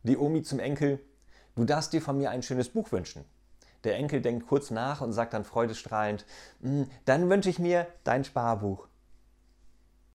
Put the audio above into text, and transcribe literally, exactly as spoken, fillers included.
Die Omi zum Enkel: Du darfst dir von mir ein schönes Buch wünschen. Der Enkel denkt kurz nach und sagt dann freudestrahlend: Dann wünsche ich mir dein Sparbuch.